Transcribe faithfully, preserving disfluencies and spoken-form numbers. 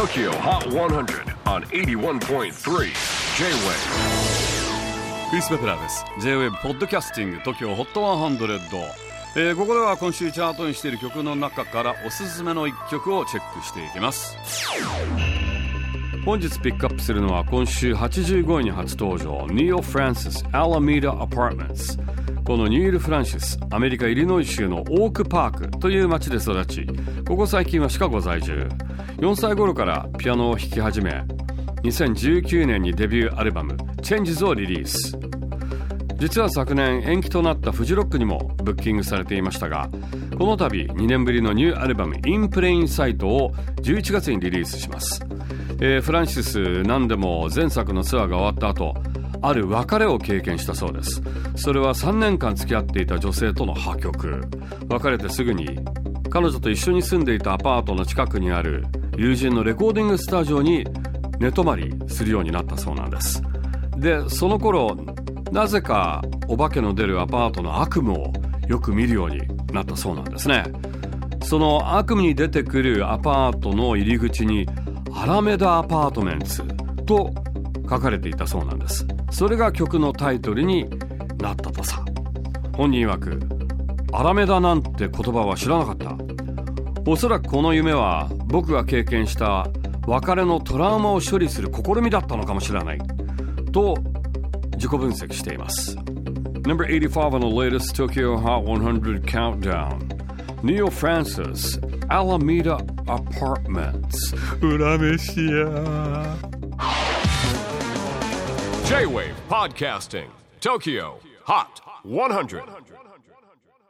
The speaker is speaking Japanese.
Tokyo Hot one hundred on エイティワンポイントスリー J-Wave。 クリス・ベプラーです。 J-Wave ポッドキャスティング Tokyo Hot ワンハンドレッド、えー、ここでは今週チャートにしている曲の中からおすすめのいっきょくをチェックしていきます。本日ピックアップするのは今週はちじゅうごいに初登場 Neil Francis Alameda Apartments。 このニール・フランシス、アメリカイリノイ州のオークパークという町で育ち、ここ最近はシカゴ在住。よんさい頃からピアノを弾き始め、にせんじゅうきゅうねんにデビューアルバム Changes をリリース。実は昨年延期となったフジロックにもブッキングされていましたが、この度にねんぶりのニューアルバム In Plain Sight をじゅういちがつにリリースします。えー、フランシス何でも前作のツアーが終わった後、ある別れを経験したそうです。それはさんねんかん付き合っていた女性との破局。別れてすぐに彼女と一緒に住んでいたアパートの近くにある友人のレコーディングスタジオに寝泊まりするようになったそうなんです。で、その頃なぜかお化けの出るアパートの悪夢をよく見るようになったそうなんですね。その悪夢に出てくるアパートの入り口にアラメダアパートメンツと書かれていたそうなんです。それが曲のタイトルになったとさ。本人曰く、アラメダなんて言葉は知らなかった。おそらくこの夢は僕が経験した別れのトラウマを処理する試みだったのかもしれないと自己分析しています。 Number eighty-five on the latest Tokyo Hot one hundred countdown, Neil Francis Alameda Apartments。 裏飯や J-Wave Podcasting Tokyo Hot one hundred。